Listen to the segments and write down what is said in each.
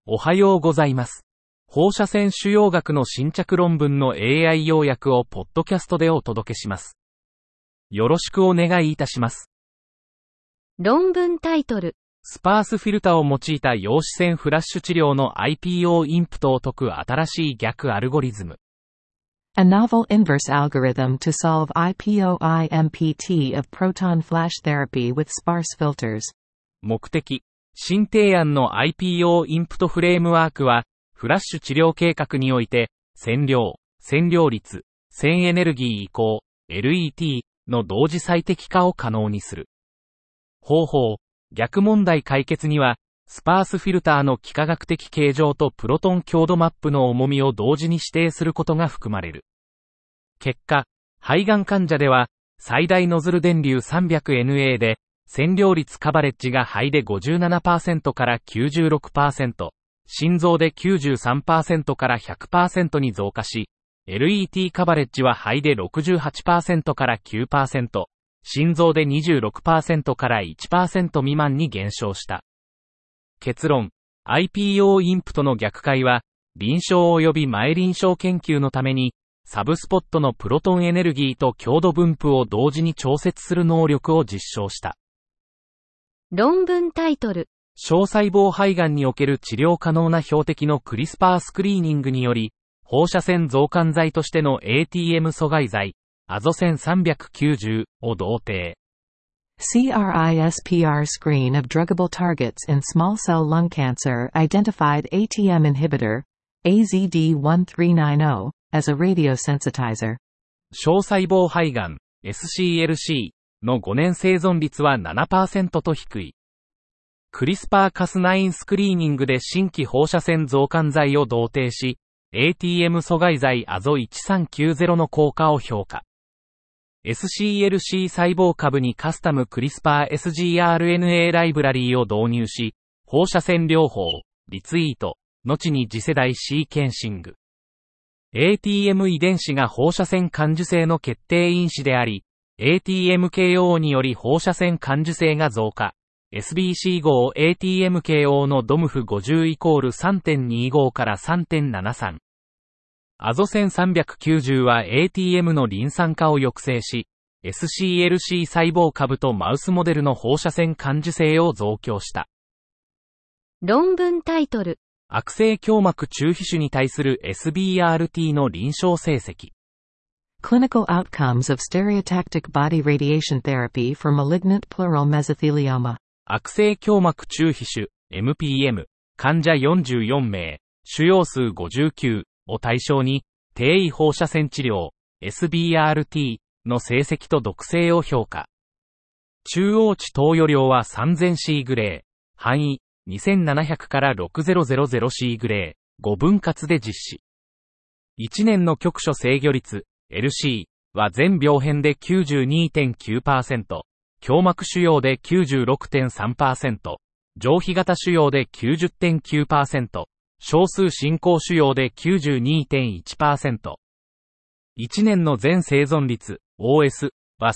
おはようございます。放射線腫瘍学の新着論文の AI 要約をポッドキャストでお届けします。よろしくお願いいたします。 論文タイトル。 スパースフィルタを用いた陽子線フラッシュ治療の IPO インプトを解く新しい逆アルゴリズム。 A novel inverse algorithm to solve IPO-IMPT of proton flash therapy with sparse filters. 目的。新提案の IPO インプトフレームワークは、フラッシュ治療計画において、線量率、線エネルギー移行、LET の同時最適化を可能にする。方法、逆問題解決には、スパースフィルターの幾何学的形状とプロトン強度マップの重みを同時に指定することが含まれる。結果、肺がん患者では、最大ノズル電流 300NA で、線量率カバレッジが肺で 57% から 96%、心臓で 93% から 100% に増加し、LET カバレッジは肺で 68% から 9%、心臓で 26% から 1% 未満に減少した。結論、IPO インプトの逆回は、臨床及び前臨床研究のために、サブスポットのプロトンエネルギーと強度分布を同時に調節する能力を実証した。 論文タイトル。 小細胞肺がんにおける治療可能な標的のクリスパースクリーニングにより、放射線増刊剤としての ATM 阻害剤、アゾセン390を同定。 CRISPR screen of druggable targets in small cell lung cancer identified ATM inhibitor, AZD1390, as a radiosensitizer. 小細胞肺がん、SCLC の5年生存率は 7% と低い。クリスパーカス9スクリーニングで新規放射線増刊剤を同定し、ATM 阻害剤アゾ1390の効果を評価。SCLC 細胞株にカスタムクリスパー sgRNA ライブラリーを導入し、放射線療法、リツイート、後に次世代シーケンシング。ATM 遺伝子が放射線感受性の決定因子であり、ATMKO により放射線感受性が増加。SBC5 ATMKO のドムフ50イコール 3.25 から 3.73。アゾセン390は ATM のリン酸化を抑制し、SCLC 細胞株とマウスモデルの放射線感受性を増強した。 論文タイトル。 悪性胸膜中皮腫に対する SBRT の臨床成績。 Clinical outcomes of stereotactic body radiation therapy for malignant pleural mesothelioma. 悪性胸膜中皮腫 MPM 患者44名、腫瘍数59を対象に、低位放射線治療 SBRT の成績と毒性を評価。中央値投与量は 3000C グレー、範囲2700から 6000C グレー、5分割で実施。1年の局所制御率LC は全病変で 92.9%、胸膜腫瘍で 96.3%、上皮型腫瘍で 90.9%、少数進行腫瘍で 92.1%。1年の全生存率 OS は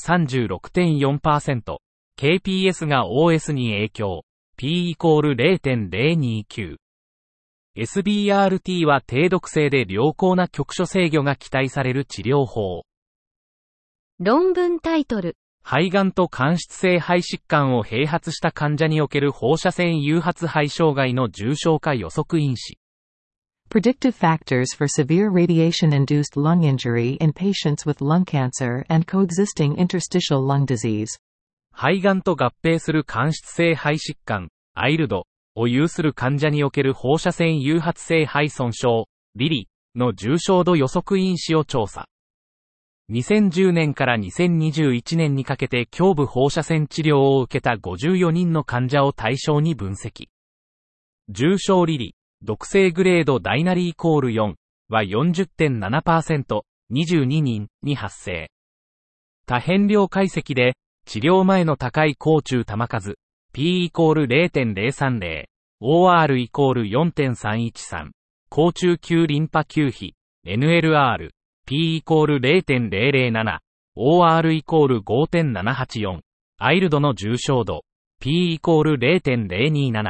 36.4%、KPS が OS に影響、P イコール 0.029。SBRT は低毒性で良好な局所制御が期待される治療法。 論文タイトル。 肺がんと間質性肺疾患を併発した患者における放射線誘発肺障害の重症化予測因子。 Predictive factors for severe radiation-induced lung injury in patients with lung cancer and coexisting interstitial lung disease. 肺がんと合併する間質性肺疾患、ILDを有する患者における放射線誘発性肺損傷、リリの重症度予測因子を調査。2010年から2021年にかけて胸部放射線治療を受けた54人の患者を対象に分析。重症リリ、毒性グレードダイナリイコール4は 40.7%、22人に発生。多変量解析で、治療前の高い高中玉数、P イコール 0.030、OR イコール 4.313、高中級リンパ球比、NLR、P イコール 0.007、OR イコール 5.784、アイルドの重症度、P イコール 0.027、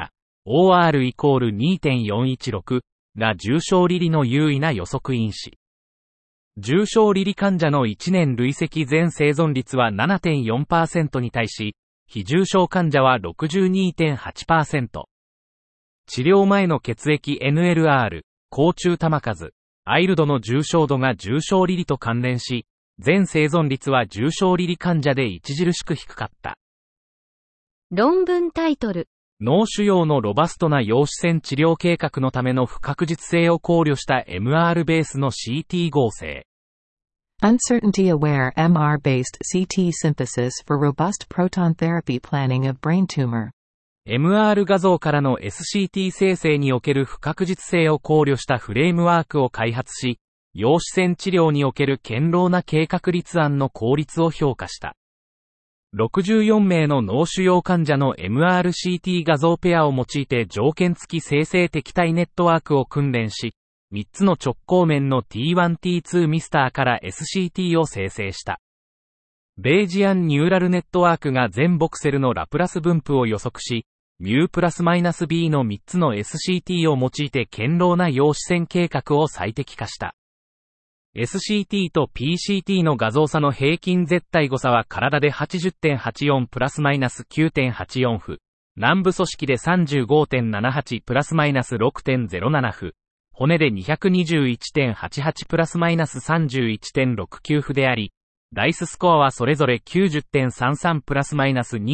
OR イコール 2.416 が重症離離の優位な予測因子。重症離離患者の1年累積全生存率は 7.4% に対し、非重症患者は 62.8%。治療前の血液 NLR、高中玉数、アイルドの重症度が重症離離と関連し、全生存率は重症離離患者で著しく低かった。 論文タイトル。 脳腫瘍のロバストな陽子線治療計画のための不確実性を考慮した MR ベースの CT 合成。 Uncertainty-aware MR-based CT synthesis for robust proton therapy planning of brain tumor. MR 画像からの SCT 生成における不確実性を考慮したフレームワークを開発し、陽子線治療における堅牢な計画立案の効率を評価した。64名の脳腫瘍患者の MRCT 画像ペアを用いて条件付き生成敵対ネットワークを訓練し、3つの直行面の T1T2 ミスターから SCT を生成した。ベイジアンニューラルネットワークが全ボクセルのラプラス分布を予測し、μ プラスマイナス B の3つの SCT を用いて堅牢な陽子線計画を最適化した。SCT と PCT の画像差の平均絶対誤差は体で 80.84 プラスマイナス 9.84 負。軟部組織で 35.78 プラスマイナス 6.07 負。骨で 221.88 プラスマイナス 31.69 負であり、ダイススコアはそれぞれ 90.33 プラスマイナス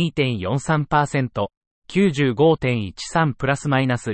2.43%、95.13 プラスマイナス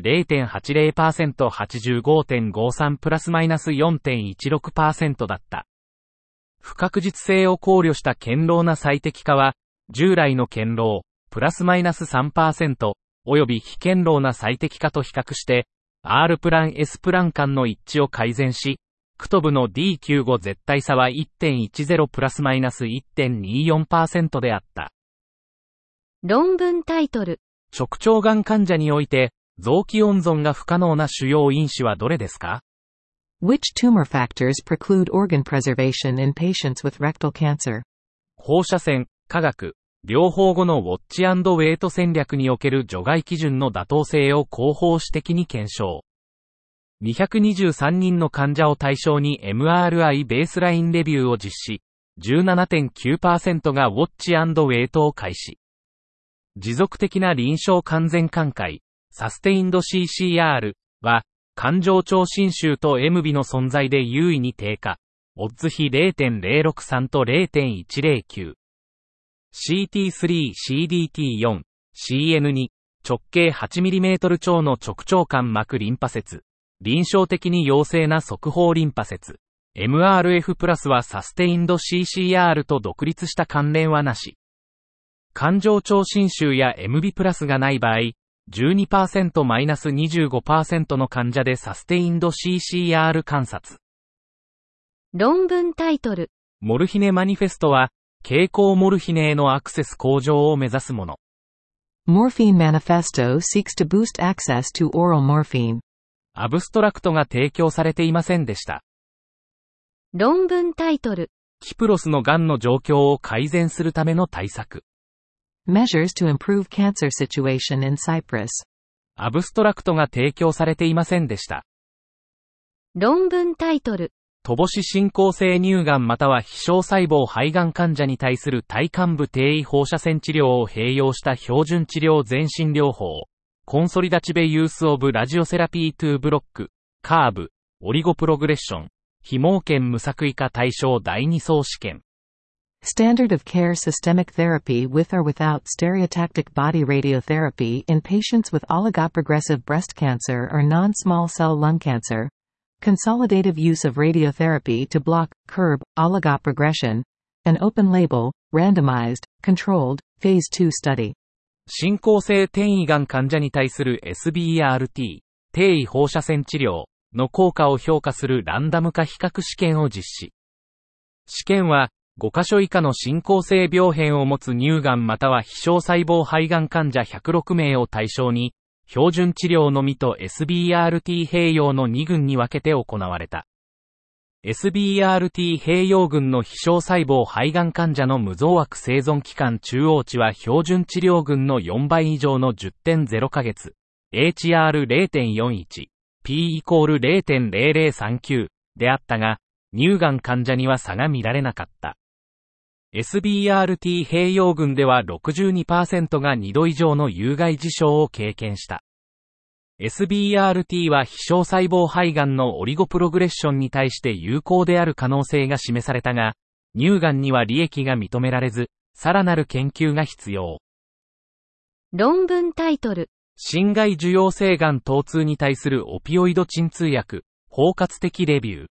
0.80%、85.53 プラスマイナス 4.16% だった。不確実性を考慮した堅牢な最適化は、従来の堅牢、プラスマイナス 3%、および非堅牢な最適化と比較して、R プラン S プラン間の一致を改善し、クトブの D95 絶対差は 1.10 プラスマイナス 1.24% であった。 論文タイトル。 直腸がん患者において、臓器温存が不可能な主要因子はどれですか？ Which tumor factors preclude organ preservation in patients with rectal cancer? 放射線、化学、療法後のウォッチ&ウェイト戦略における除外基準の妥当性を広報史的に検証。223人の患者を対象に MRI ベースラインレビューを実施。17.9% がウォッチ&ウェイトを開始。持続的な臨床完全寛解、サステインド CCR は、環状腸侵襲と MB の存在で優位に低下。オッズ比 0.063 と 0.109。CT3、CDT4、CN2、直径 8mm 腸の直腸間膜リンパ節。臨床的に陽性な側方リンパ節。MRF プラスはサステインド CCR と独立した関連はなし。環状腸侵襲や MB プラスがない場合、12%-25% の患者でサステインド CCR 観察。 論文タイトル。 モルヒネマニフェストは、経口モルヒネへのアクセス向上を目指すもの。 Morphine Manifesto seeks to boost access to oral morphine. アブストラクトが提供されていませんでした。 論文タイトル。 キプロスのがんの状況を改善するための対策。 Measures to improve cancer situation in Cyprus. アブストラクトが提供されていませんでした。 論文タイトル。 乏し進行性乳がんまたは非小細胞肺がん患者に対する体幹部低位放射線治療を併用した標準治療全身療法。コンソリダチベユースオブラジオセラピー2ブロック、カーブ、オリゴプログレッション、非盲検無作為化対象第2相試験。 Standard of care systemic therapy with or without stereotactic body radiotherapy in patients with oligoprogressive breast cancer or non-small cell lung cancer. Consolidative use of radiotherapy to block, curb, oligoprogression. An open-label, randomized, controlled, phase 2 study. 進行性転移がん患者に対する SBRT、低位放射線治療の効果を評価するランダム化比較試験を実施。試験は、5カ所以下の進行性病変を持つ乳がんまたは非小細胞肺がん患者106名を対象に、標準治療のみと SBRT 併用の2群に分けて行われた。SBRT 併用群の非小細胞肺がん患者の無増悪生存期間中央値は標準治療群の4倍以上の 10.0 ヶ月。 HR0.41、P イコール 0.0039 であったが、乳がん患者には差が見られなかった。SBRT 併用群では 62% が2度以上の有害事象を経験した。SBRT は非小細胞肺がんのオリゴプログレッションに対して有効である可能性が示されたが、乳がんには利益が認められず、さらなる研究が必要。 論文タイトル。 心外受容性がん疼痛に対するオピオイド鎮痛薬、包括的レビュー。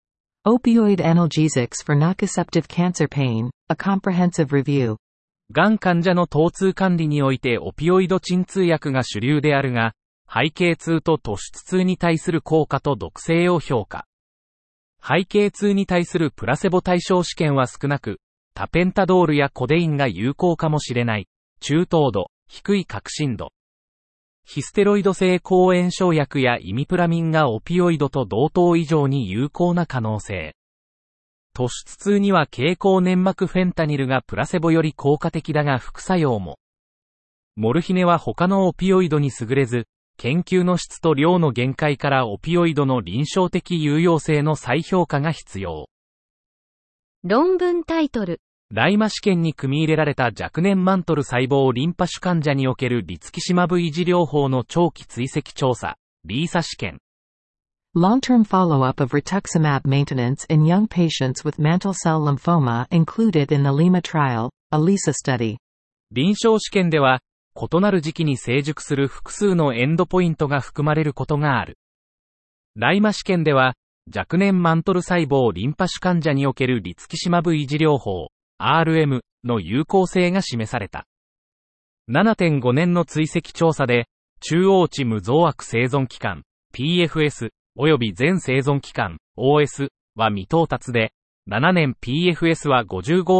Opioid analgesics for nociceptive cancer pain, a comprehensive review. がん患者の疼痛管理においてオピオイド鎮痛薬が主流であるが、背景痛と突出痛に対する効果と毒性を評価。背景痛に対するプラセボ対象試験は少なく、タペンタドールやコデインが有効かもしれない。中等度、低い確信度。ヒステロイド性抗炎症薬やイミプラミンがオピオイドと同等以上に有効な可能性。突出痛には経口粘膜フェンタニルがプラセボより効果的だが副作用も。モルヒネは他のオピオイドに優れず、研究の質と量の限界からオピオイドの臨床的有用性の再評価が必要。 論文タイトル。 ライマ試験に組み入れられた若年マントル細胞リンパ腫患者におけるリツキシマブ維持療法の長期追跡調査、リーサ試験。 Long-term follow-up of rituximab maintenance in young patients with mantle cell lymphoma included in the Lima trial, a LISA study. 臨床試験では、異なる時期に成熟する複数のエンドポイントが含まれることがある。ライマ試験では、若年マントル細胞リンパ腫患者におけるリツキシマブ維持療法、RM の有効性が示された。7.5 年の追跡調査で、中央値無増悪生存期間、PFS、及び全生存期間、OS は未到達で、7年 PFS は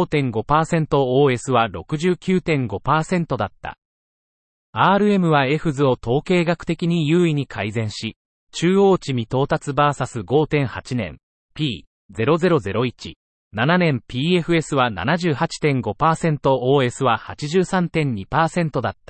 55.5%、OS は 69.5% だった。RM は F 図を統計学的に優位に改善し、中央値未到達 vs5.8 年、P0001。7年 PFS は 78.5%、OS は 83.2% だった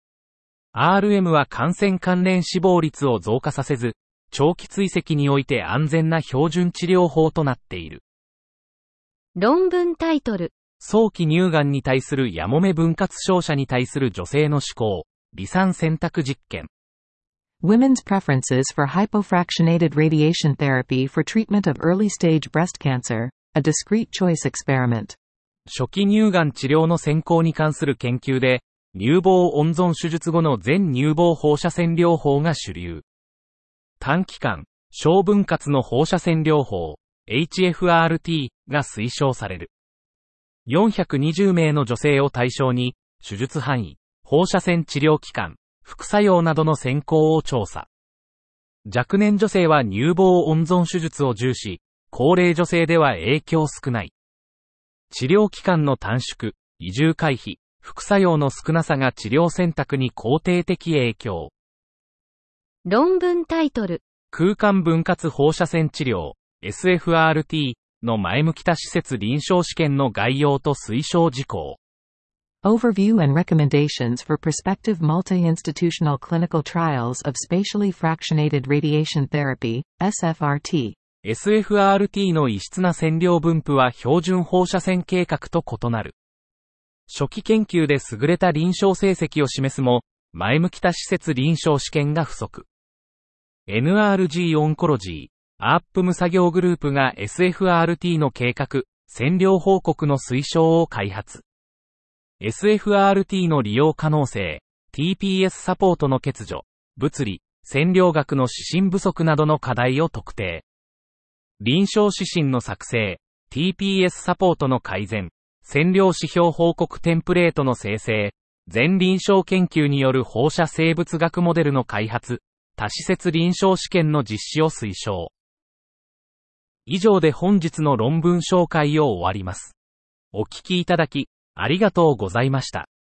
。RM は感染関連死亡率を増加させず、長期追跡において安全な標準治療法となっている。 論文タイトル。 早期乳がんに対するやもめ分割照射に対する女性の思考、離散選択実験。 Women's preferences for hypofractionated radiation therapy for treatment of early-stage breast cancer.A discrete choice experiment. 初期乳がん治療の選考に関する研究で、乳房温存手術後の全乳房放射線療法が主流。短期間、小分割の放射線療法、HFRT が推奨される。420名の女性を対象に、手術範囲、放射線治療期間、副作用などの選考を調査。若年女性は乳房温存手術を重視。高齢女性では影響少ない。治療期間の短縮、移住回避、副作用の少なさが治療選択に肯定的影響。 論文タイトル。 空間分割放射線治療、SFRT の前向き多施設臨床試験の概要と推奨事項。 Overview and recommendations for prospective multi-institutional clinical trials of spatially fractionated radiation therapy, SFRT。SFRT の異質な線量分布は標準放射線計画と異なる。初期研究で優れた臨床成績を示すも、前向き多施設臨床試験が不足。NRG オンコロジー、ARPM 作業グループが SFRT の計画、線量報告の推奨を開発。SFRT の利用可能性、TPS サポートの欠如、物理、線量学の指針不足などの課題を特定。臨床指針の作成、TPS サポートの改善、線量指標報告テンプレートの生成、全臨床研究による放射生物学モデルの開発、多施設臨床試験の実施を推奨。以上で本日の論文紹介を終わります。お聞きいただき、ありがとうございました。